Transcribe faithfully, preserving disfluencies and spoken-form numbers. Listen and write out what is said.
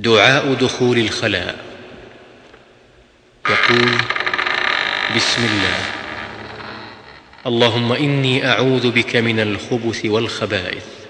دعاء دخول الخلاء. يقول: بسم الله، اللهم إني أعوذ بك من الخبث والخبائث.